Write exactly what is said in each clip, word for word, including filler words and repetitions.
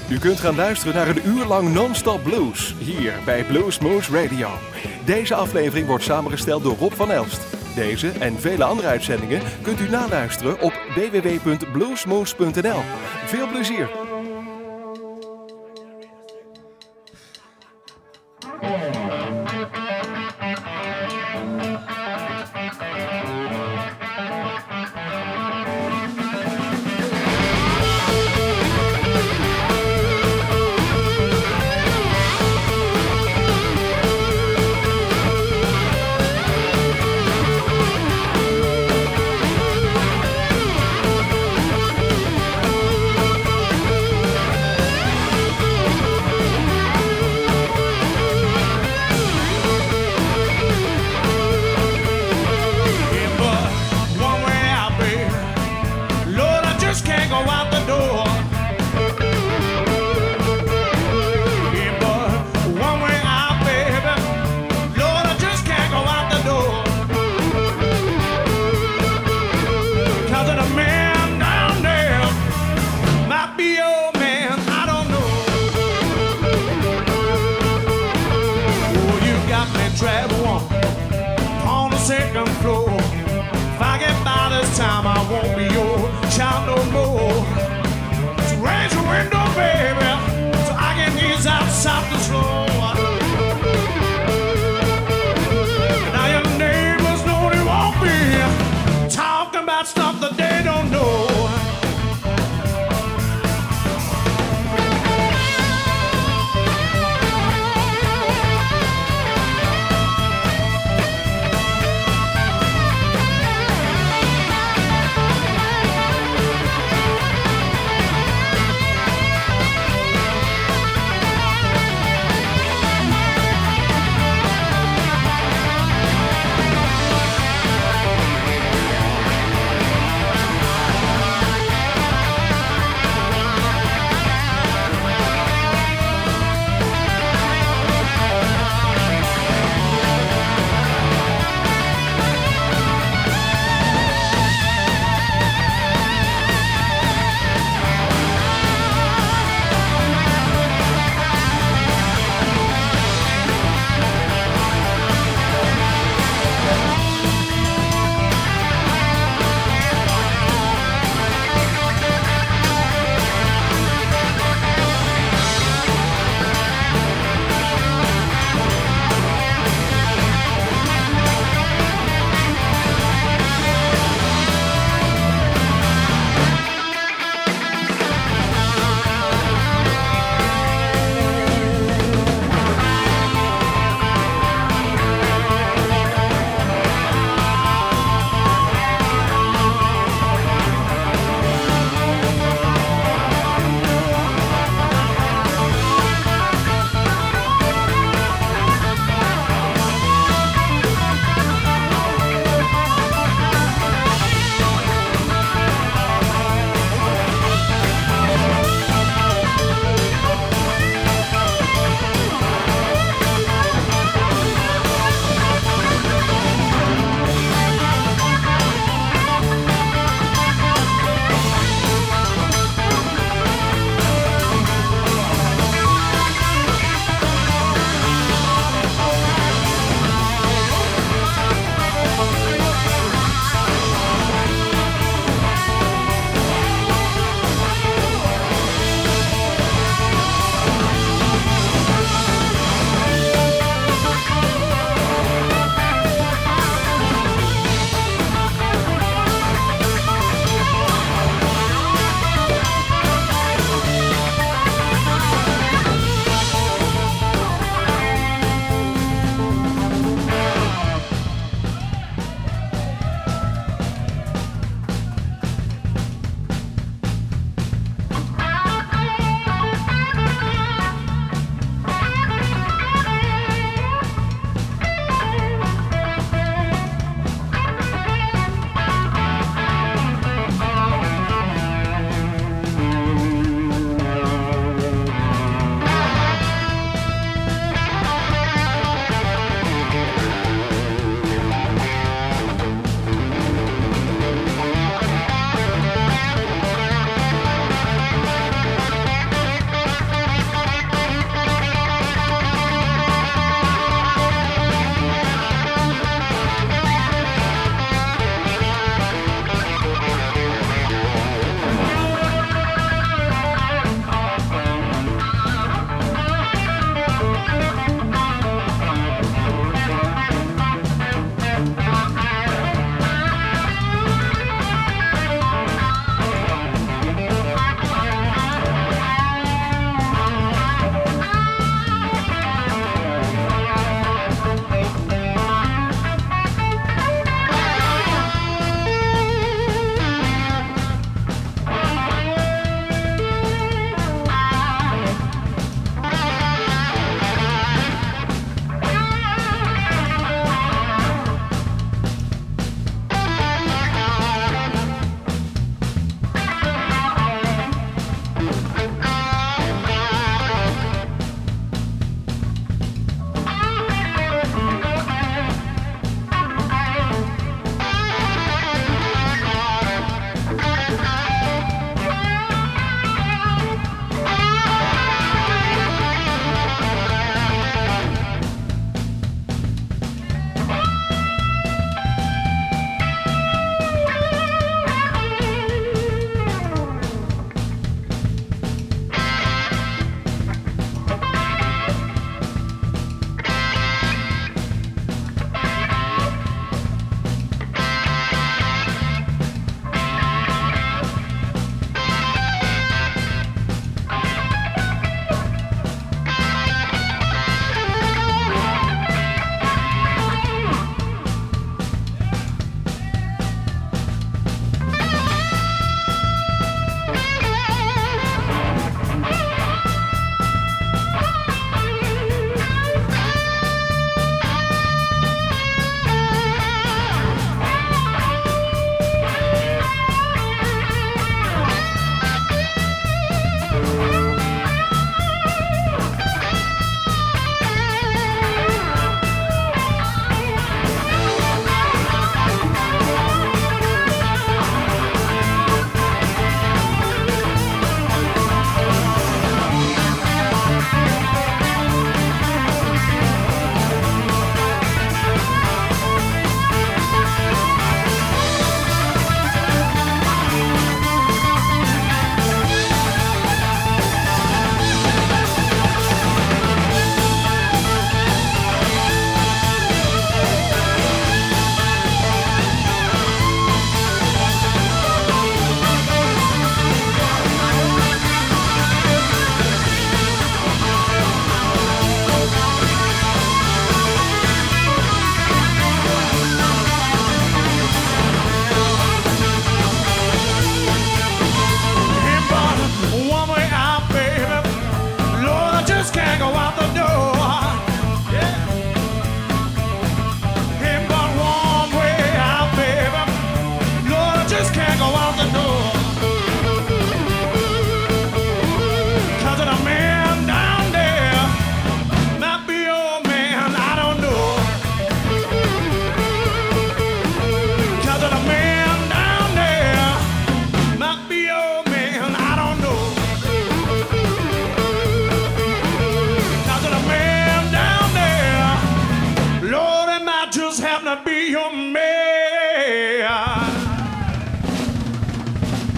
U kunt gaan luisteren naar een uur lang non-stop blues, hier bij Bluesmoose Radio. Deze aflevering wordt samengesteld door Rob van Elst. Deze en vele andere uitzendingen kunt u naluisteren op w w w punt bluesmoose punt n l. Veel plezier!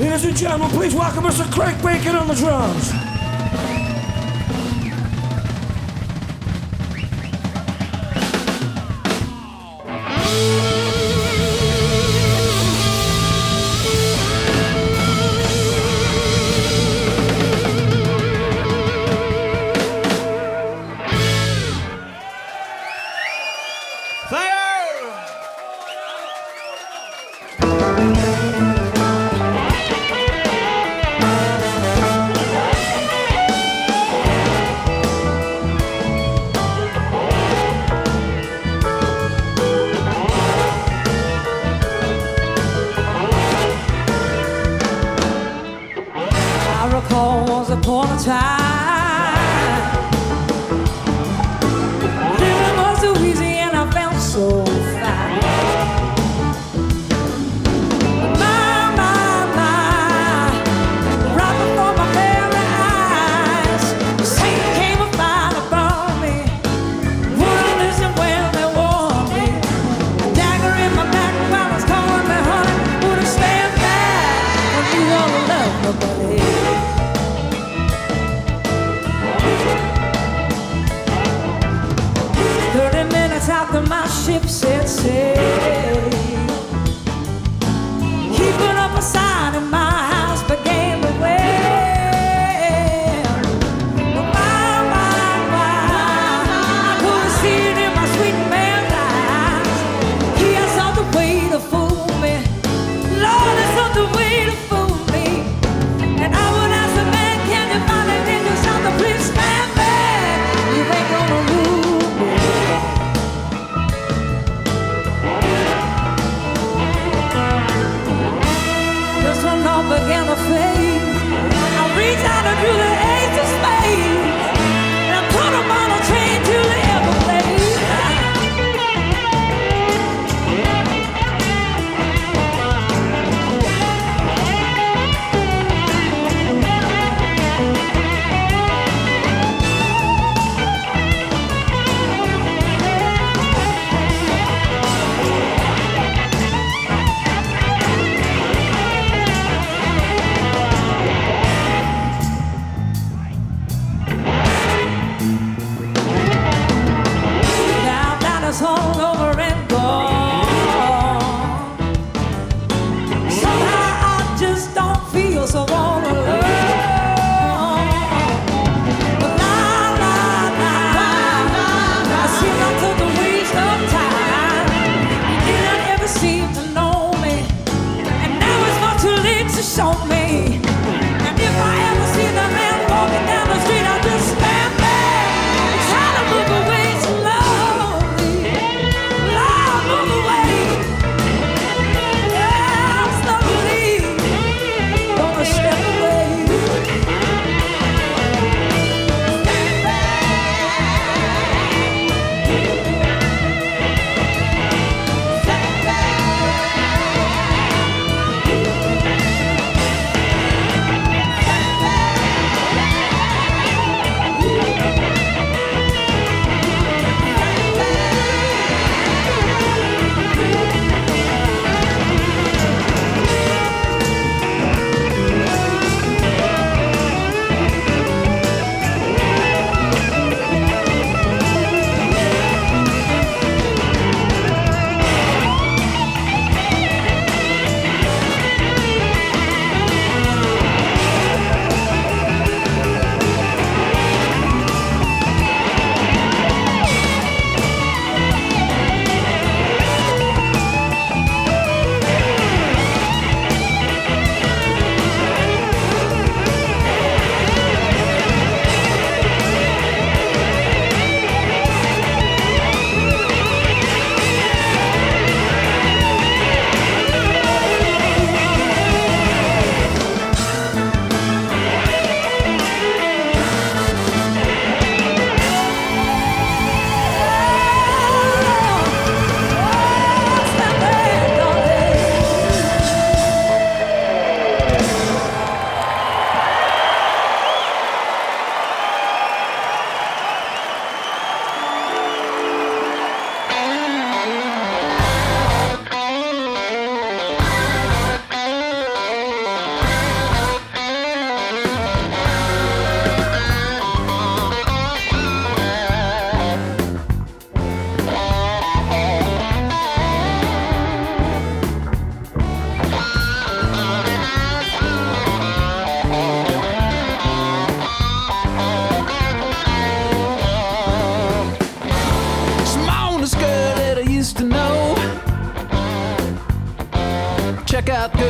Ladies and gentlemen, please welcome Mister Craig Bacon on the drums.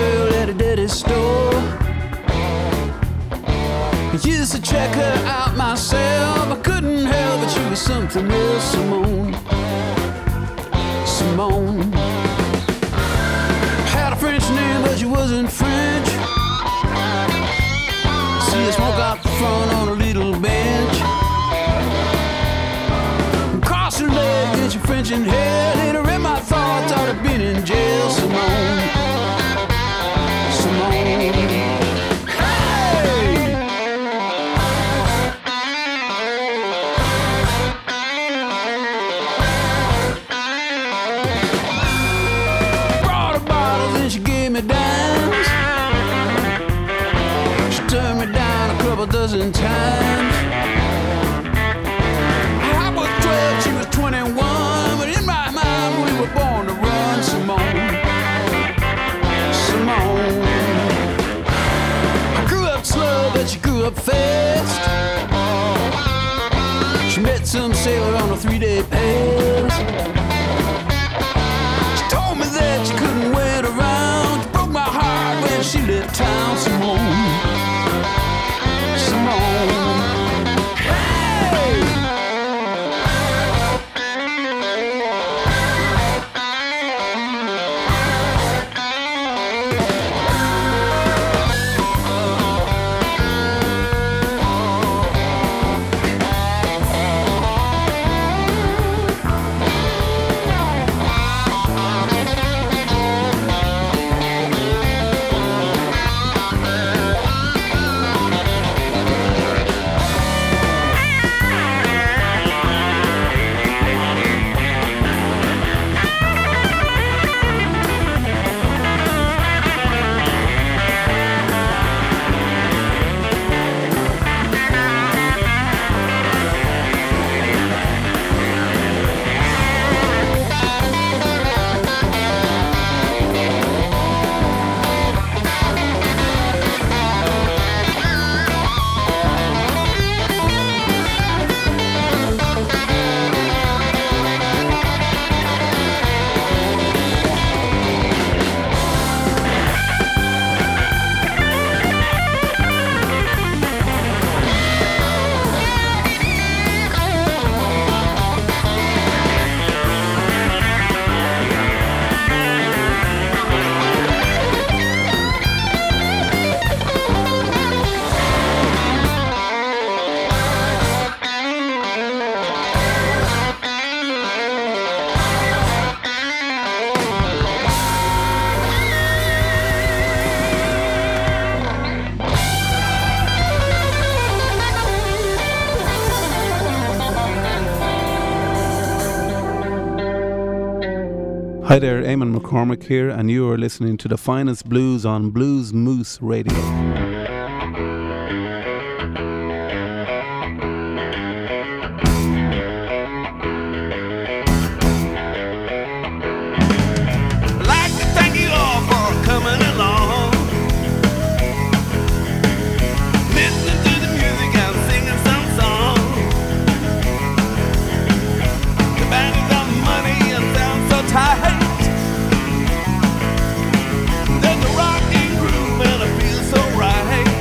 girl at a dirty store. I used to check her out myself. I couldn't help but she was something real. Simone, Simone had a French name, but she wasn't French. See her smoke out the front on a little bench. Cross her leg and she French in hair. Later in my thoughts I'd have been in jail. Simone, Simone. Dozen times. I was twelve, she was twenty-one, but in my mind we were born to run. Simone, Simone. I grew up slow, but she grew up fast. She met some sailor on a three-day pass. She told me that she couldn't wait around. She broke my heart when she left town. Simone, Hi there, Eamon McCormick here, and you are listening to the finest blues on Blues Moose Radio. There's a rocking groove and I feel so right.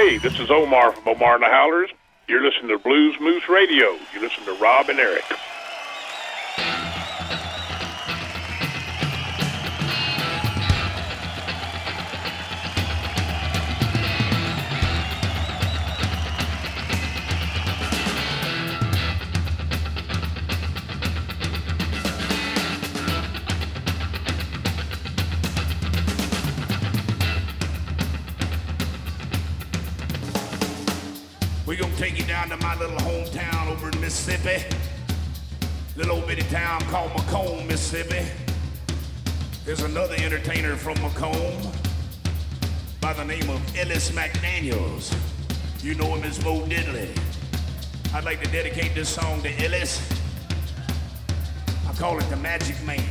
Hey, this is Omar from Omar and the Howlers. You're listening to Blues Moose Radio. You listen to Rob and Eric. We're gonna take you down to my little hometown over in Mississippi. Little old bitty town called Macomb, Mississippi. There's another entertainer from Macomb by the name of Ellis McDaniels. You know him as Bo Diddley. I'd like to dedicate this song to Ellis. I call it The Magic Man.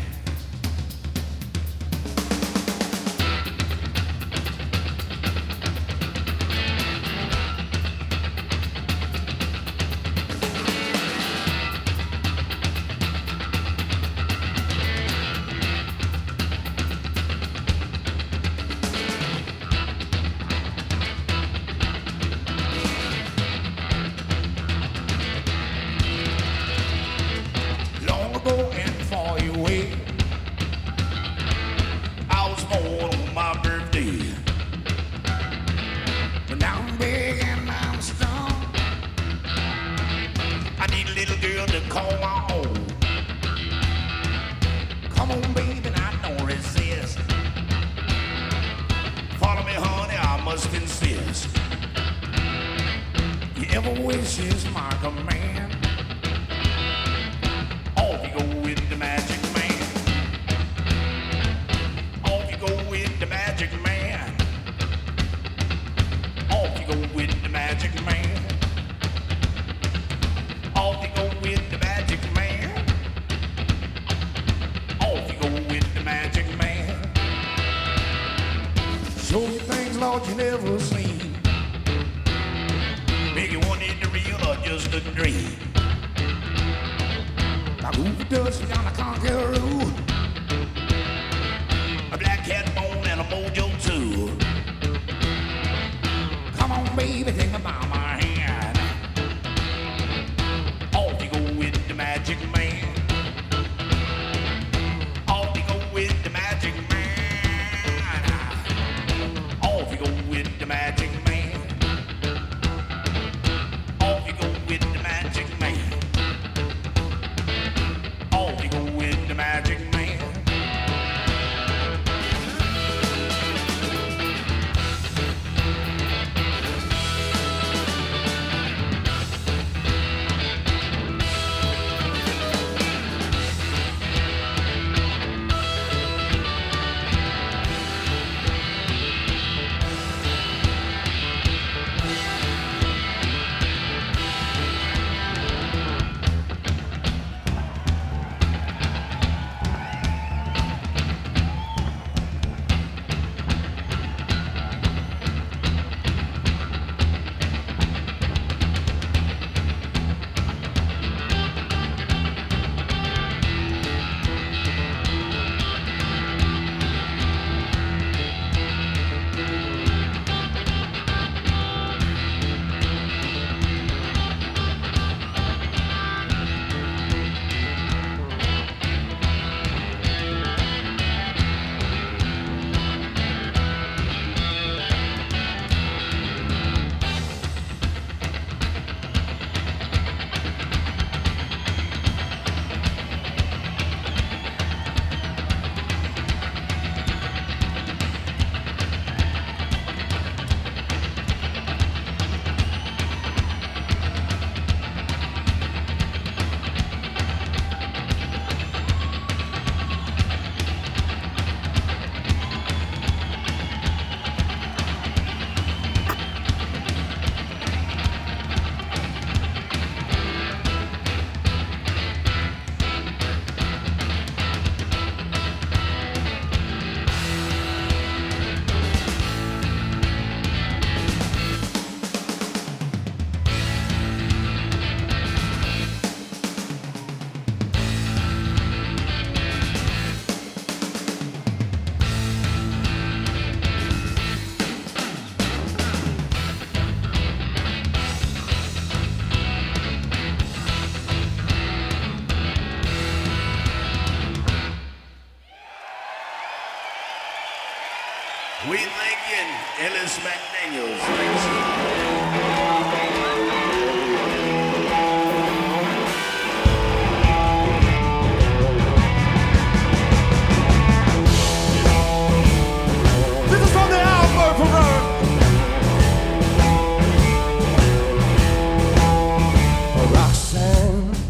We thank you, and Ellis McDaniels. Thanks. This is from the Albert Program. Roxanne,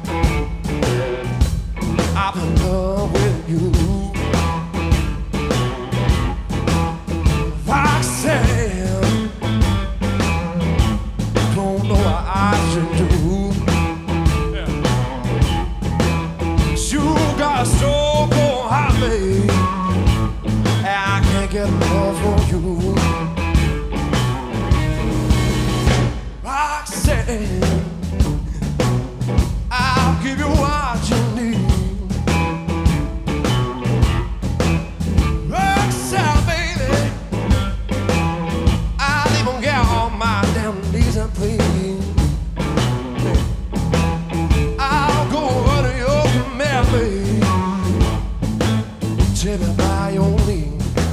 I'm in love with you. Roxanne, don't know what I should do. You got so cold, hot, babe. I can't get enough of you. Roxanne, I'll give you what you need. Roxanne, baby, I'll even get on my damn knees and please. I'll go under your command, baby. Tell me by your leave.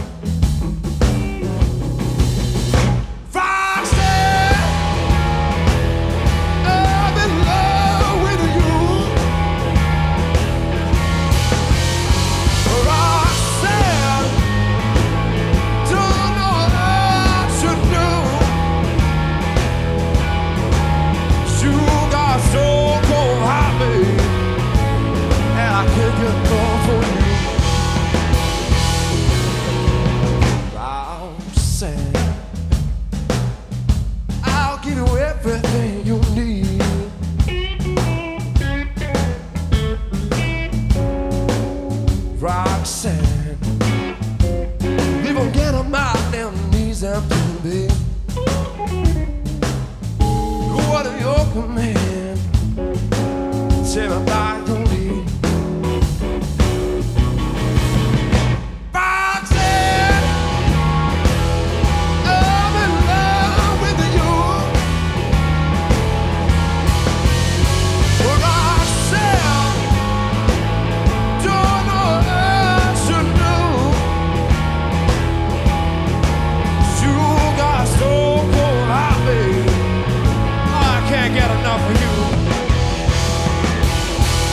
Everything you need. Roxanne, leave them get on my damn knees and baby. What are your command? Tell me about your need. Roxanne, I'm in love with you. Get enough of you.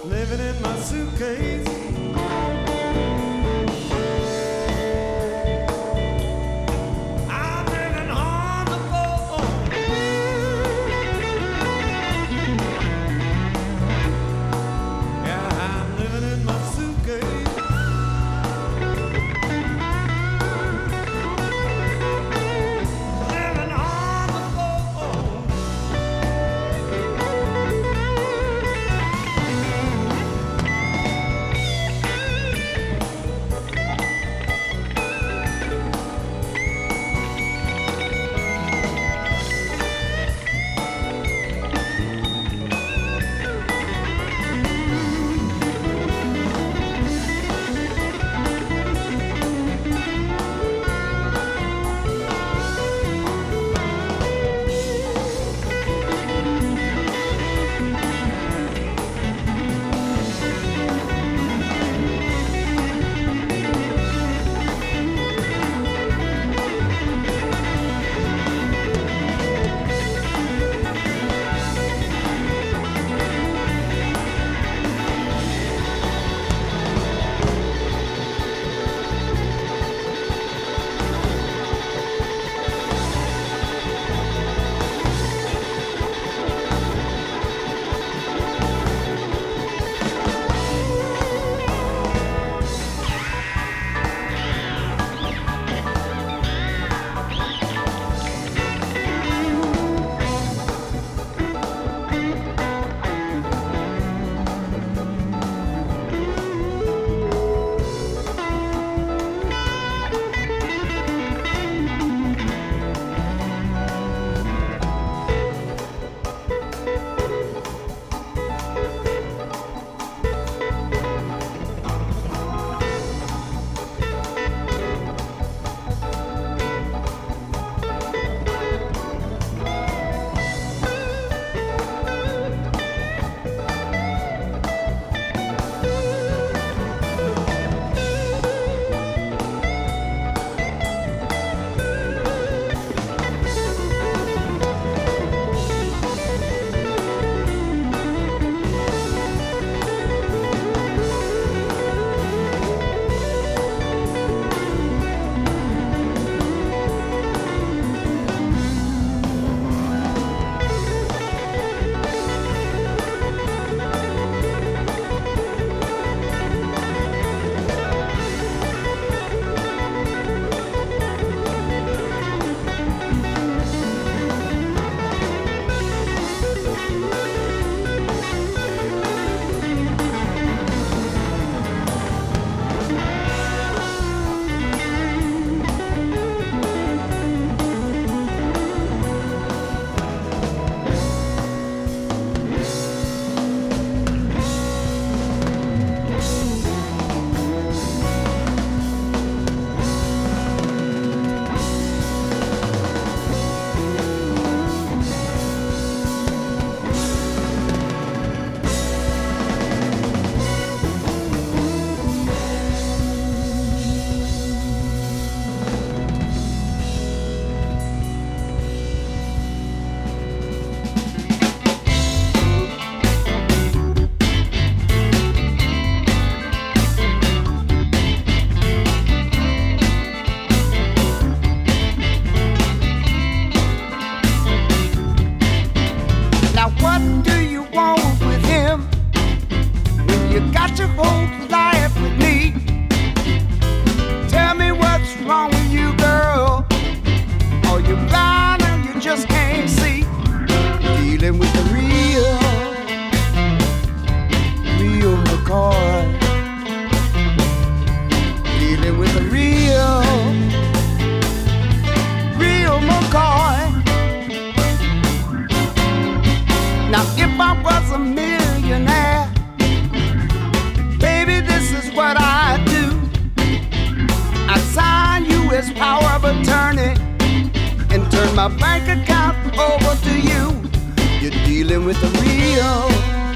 living in my suitcase. I'm living on the phone. Yeah, I'm living in my suitcase. Living on the phone. my bank account over to you. You're dealing with the real,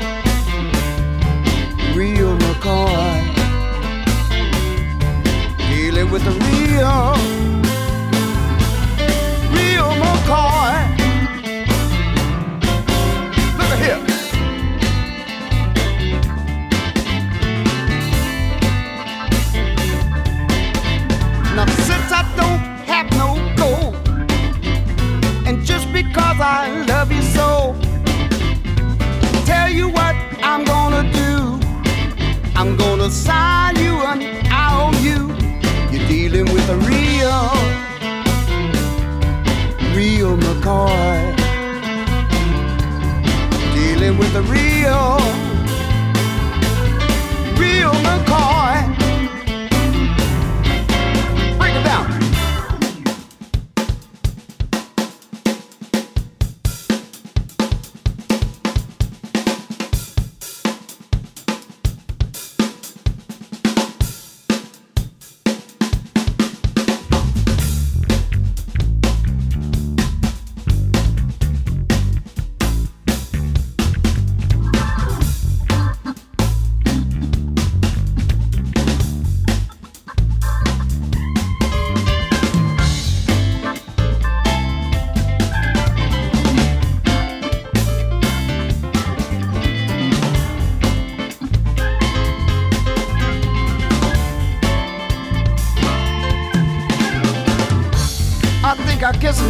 real McCoy. Dealing with the real, real McCoy. Look at here.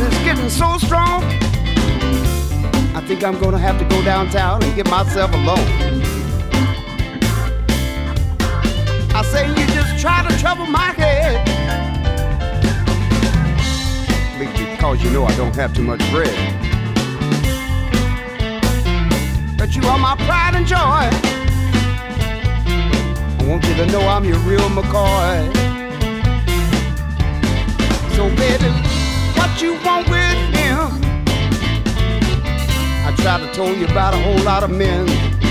is getting so strong. I think I'm gonna have to go downtown and get myself a loan. I say you just try to trouble my head, because you know I don't have too much bread. But you are my pride and joy. I want you to know I'm your real McCoy. So baby, what you want with him? I tried to tell you about a whole lot of men.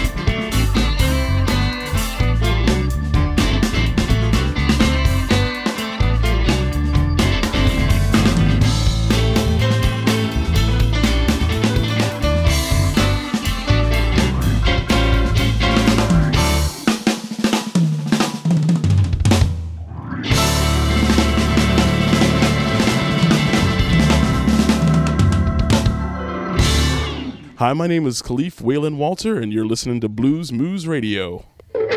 Hi, my name is Khalif Waylon Walter, and you're listening to Blues Moose Radio.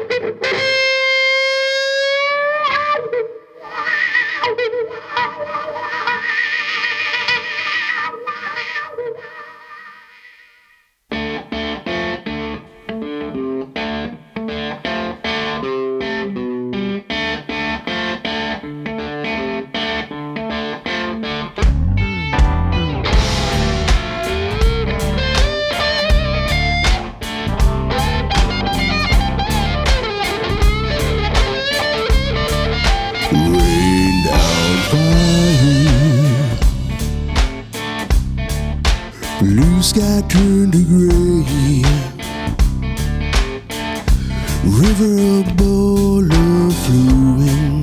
Blue sky turned to gray, river of boulder flowing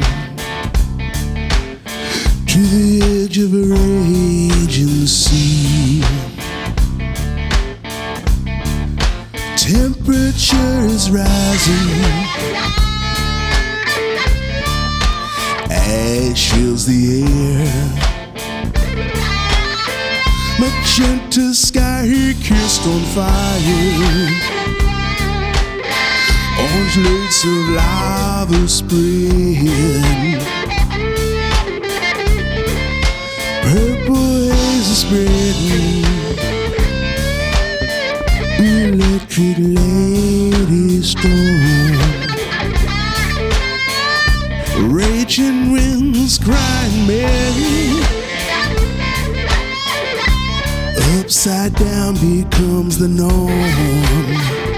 to the edge of a raging sea. Temperature is rising, ash fills the air. Magenta sky kissed on fire, orange lakes of lava spread, purple haze is spreading, electric lady storm, raging winds crying merry. Upside down becomes the norm.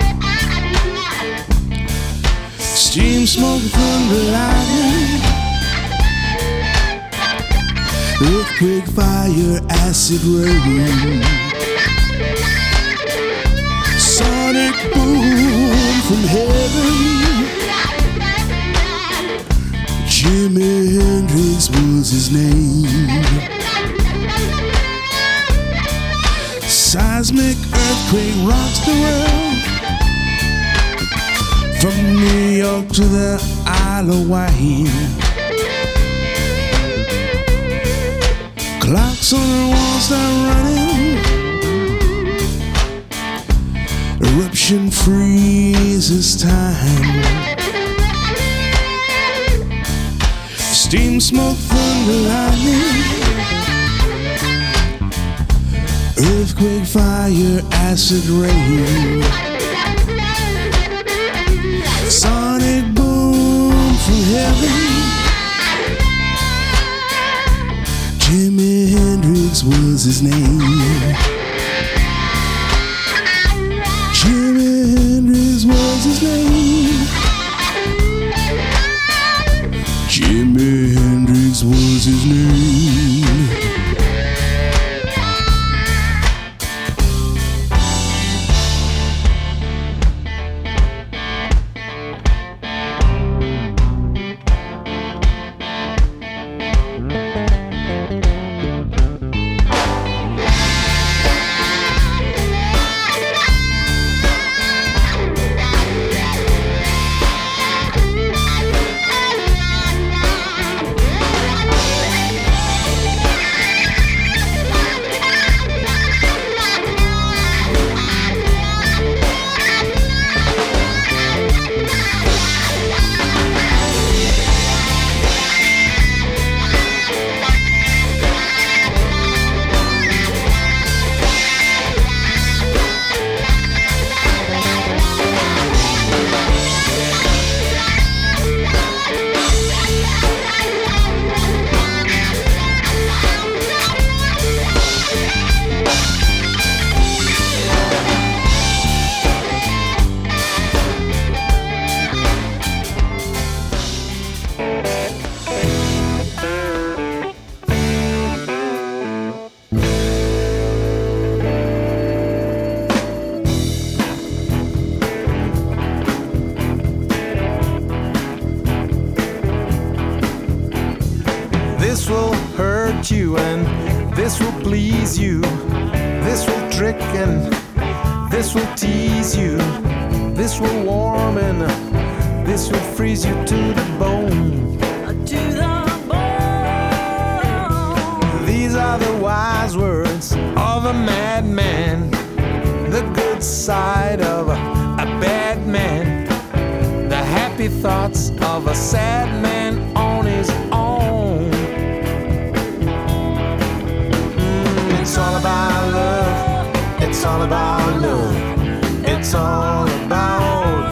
Steam, smoke, thunder, lightning, earthquake, fire, acid rain, sonic boom from heaven. Jimi Hendrix was his name. Seismic earthquake rocks the world, from New York to the Isle of Wight. Clocks on the walls start running, eruption freezes time. Steam, smoke, thunder, lightning, earthquake, fire, acid rain, sonic boom from heaven. Jimi Hendrix was his name. Jimi Hendrix was his name. Jimi Hendrix was his name. tempt you, and this will please you. This will trick and this will tease you. This will warm and this will freeze you to the bone. To the bone. These are the wise words of a madman. The good side of a, a bad man. The happy thoughts of a sad man on his own. Mm, it's all about love. It's all about love. It's all about.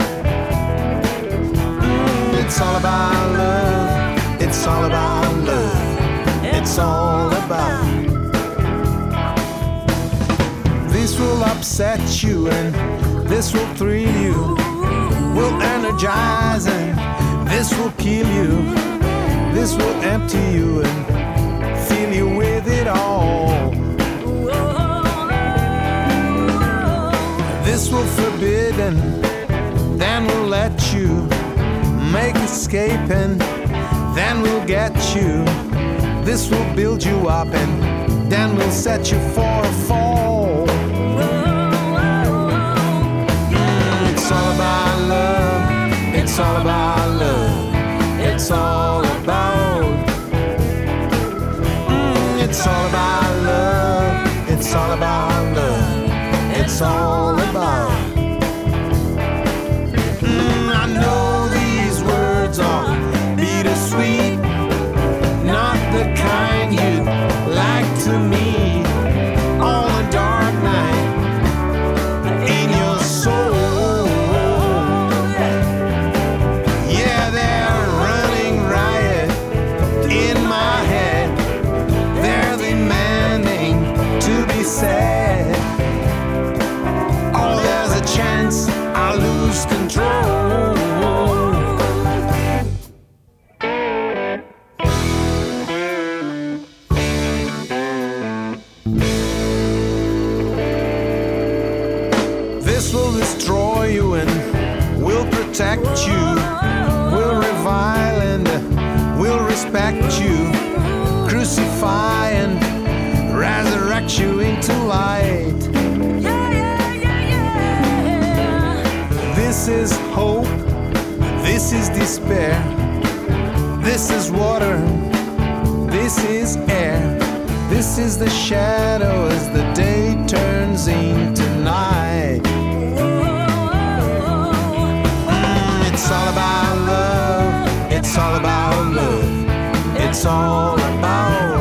Mm, it's all about love. It's all about love. It's all about. This will upset you and this will thrill you. Will energize and this will kill you. This will empty you and fill you with it all. This will forbid and then we'll let you make escape and then we'll get you. This will build you up and then we'll set you for a fall. Mm, it's all about love. It's all about love. It's all about. Mm, it's all about love. It's all about love. It's all about. Mm, I know these words are bittersweet, not the kind you'd like to meet on a dark night in your soul. Yeah, they're running riot in my head. They're demanding to be said. Oh, there's a chance I lose control. This will destroy you and will protect you. Will revile and will respect you. Crucify and resurrect you into light. This is hope, this is despair, this is water, this is air, this is the shadow as the day turns into night. Mm, it's all about love, it's all about love, it's all about.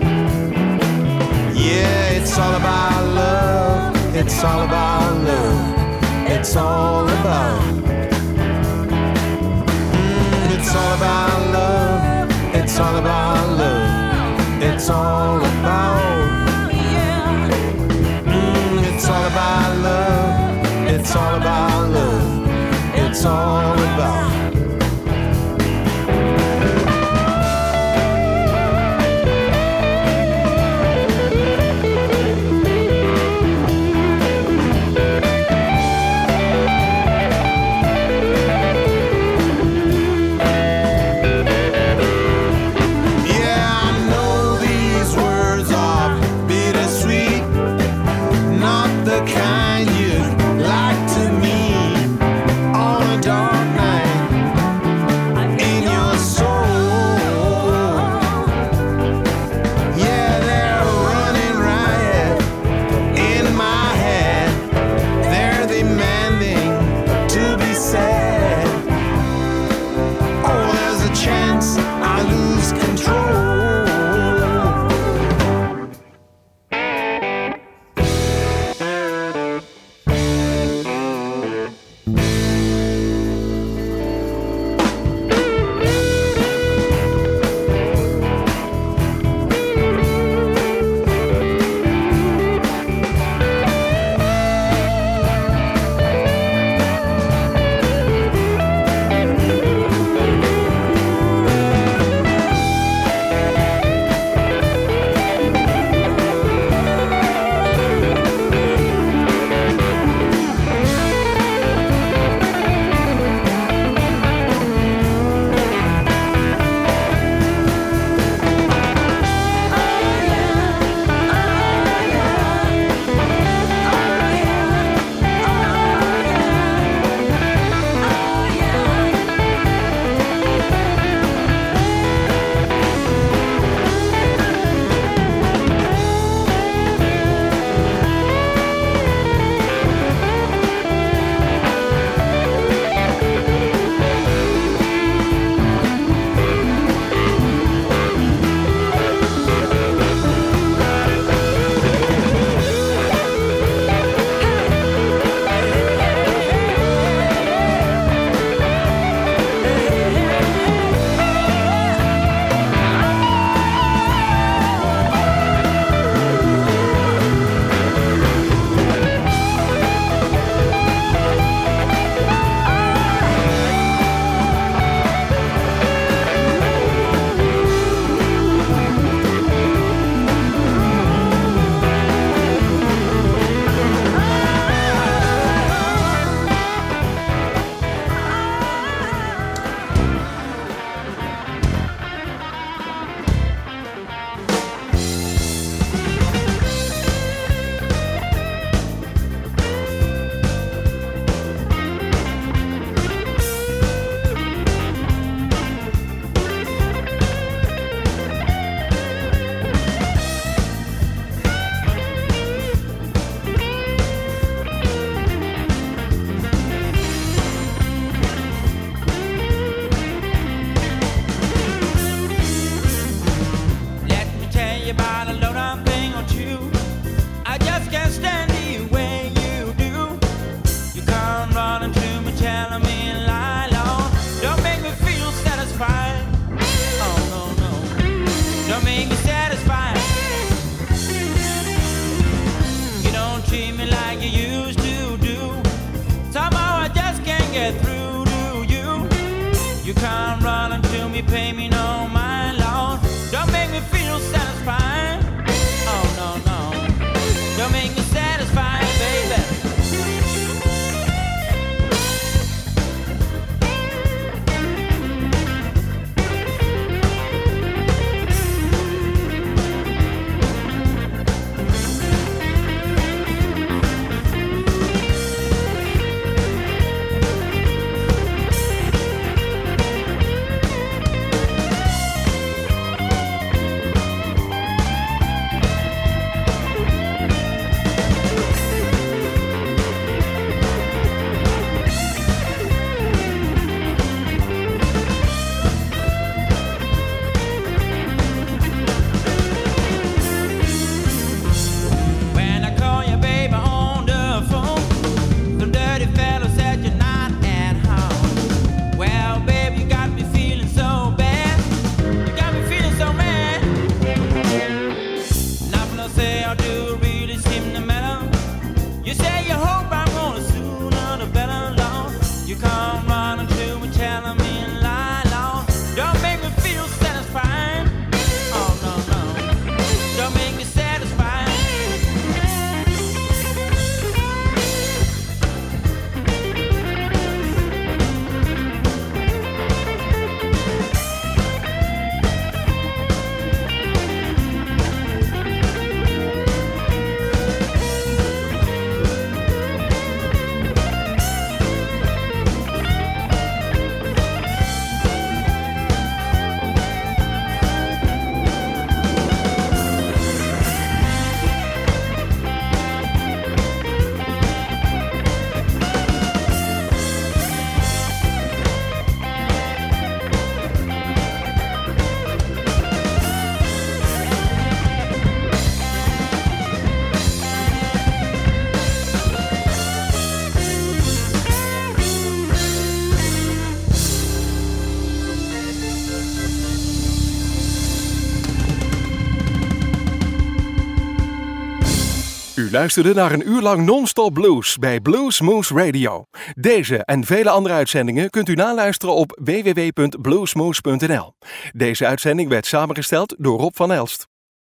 Yeah, it's all about love, it's all about love. It's all about. Mm, it's all about love. It's all about love. It's all about. Mm, it's all about love. It's all about love. It's all about. Kind you'd like to meet on a dark night You come running to me, pay me no mind, Lord. Don't make me feel satisfied. Oh no, no. Don't make me satisfied, baby. U luisterde naar een uur lang non-stop blues bij Blues Moose Radio. Deze en vele andere uitzendingen kunt u naluisteren op w w w punt bluesmoose punt n l. Deze uitzending werd samengesteld door Rob van Elst.